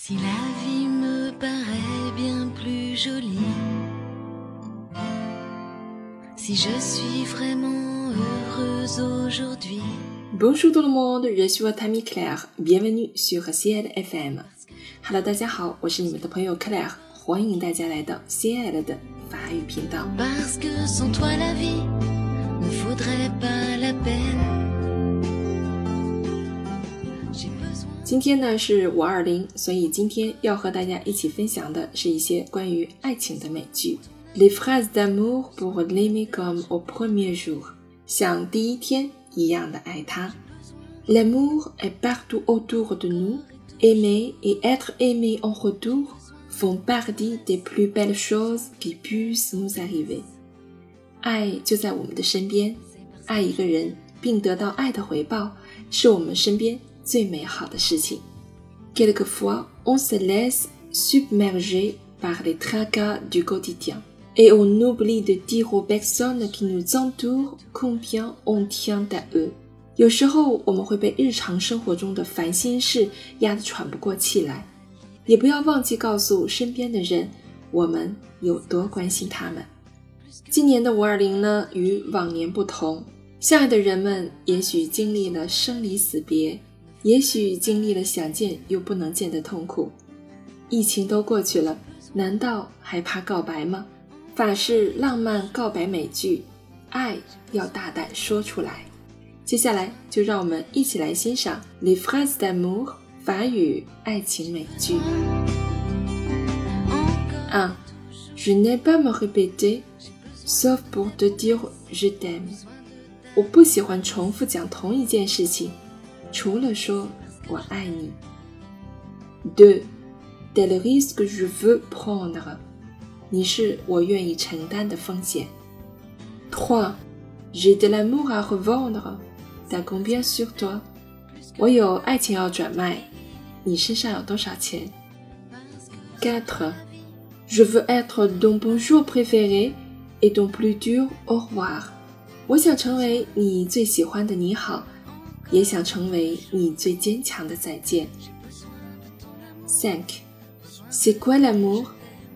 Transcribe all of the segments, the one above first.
Si la vie me paraît bien plus jolie, si je suis vraiment heureuse aujourd'hui. Bonjour tout le monde, je suis votre amie Claire, bienvenue sur CL FM. Hello， 大家好，我是你们的朋友 Claire， 欢迎大家来到 CL 的法语频道。 Parce que sans toi la vie ne faudrait pas la peine。 今天呢是520，所以今天要和大家一起分享的是一些关于爱情的美句。Les phrases d'amour pour l'aimer comme au premier jour， 像第一天一样的爱他。L'amour est partout autour de nous. Aimer et être aimé en retour font partie des plus belles choses qui puissent nous arriver. 爱就在我们的身边，爱一个人并得到爱的回报，是我们身边最美好的事情。Quelquefois, on se laisse submerger par les tracas du quotidien et on oublie de dire aux personnes qui nous entourent combien on tient à eux. 有时候我们会被日常生活中的烦心事压得喘不过气来，也不要忘记告诉身边的人我们有多关心他们。今年的520呢，与往年不同，相爱的人们也许经历了生离死别，也许经历了想见又不能见的痛苦。疫情都过去了，难道还怕告白吗？法式浪漫告白美句，爱要大胆说出来。接下来就让我们一起来欣赏 Les phrases d'amour 法语爱情美句。1. Je n'aime pas me répéter, sauf pour te dire je t'aime. 我不喜欢重复讲同一件事情，除了说我爱你。2. Tel risque que je veux prendre. 你是我愿意承担的风险。3. J'ai de l'amour à revendre.T'as combien sur toi? 我有爱情要转卖，你身上有多少钱？ 4. Je veux être ton bonjour préféré et ton plus dur au revoir. 我想成为你最喜欢的你好，也想成为你最坚强的再见。5. C'est quoi l'amour?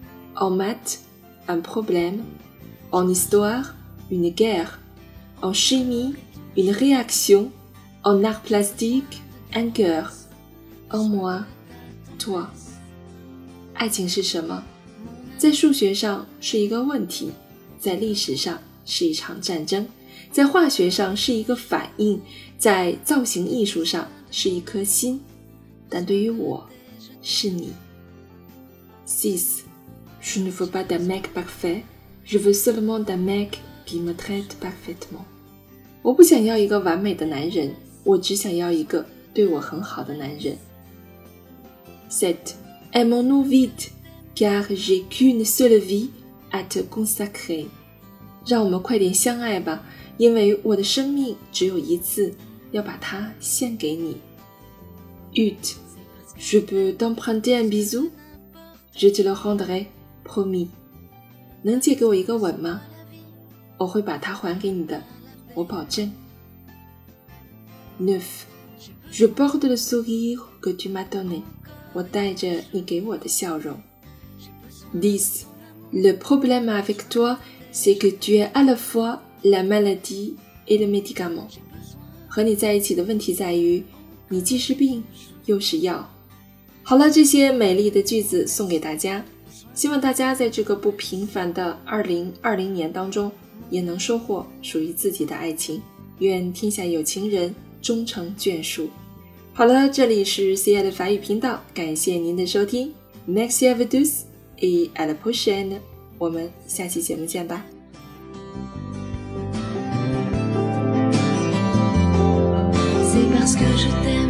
En maths, un problème. En histoire, une guerre. En chimie,Une réaction, en art plastique, un cœur, en moi, toi. 爱情是什么？在数学上是一个问题，在历史上是一场战争，在化学上是一个反应，在造型艺术上是一颗心，但对于我，是你。6. Je ne veux pas d'un mec parfait, je veux seulement d'un mec qui me traite parfaitement.我不想要一个完美的男人，我只想要一个对我很好的男人。7. Aimons-nous vite, car j'ai qu'une seule vie à te consacrer. 让我们快点相爱吧，因为我的生命只有一次，要把它献给你。8. Je peux t'emprunter un bisou? Je te le rendrai, promis. 能借给我一个吻吗？我会把它还给你的。我保证。9. Je porte le sourire que tu m'as donné. 我带着你给我的笑容。10. Le problème avec toi, c'est que tu es à la fois la maladie et le médicament. 和你在一起的问题在于，你既是病又是药。好了，这些美丽的句子送给大家，希望大家在这个不平凡的2020年当中也能收获属于自己的爱情，愿天下有情人终成眷属。好了，这里是 CL 的法语频道，感谢您的收听。Merci à vous tous et à la prochaine， 我们下期节目见吧。 C'est parce que je t'aime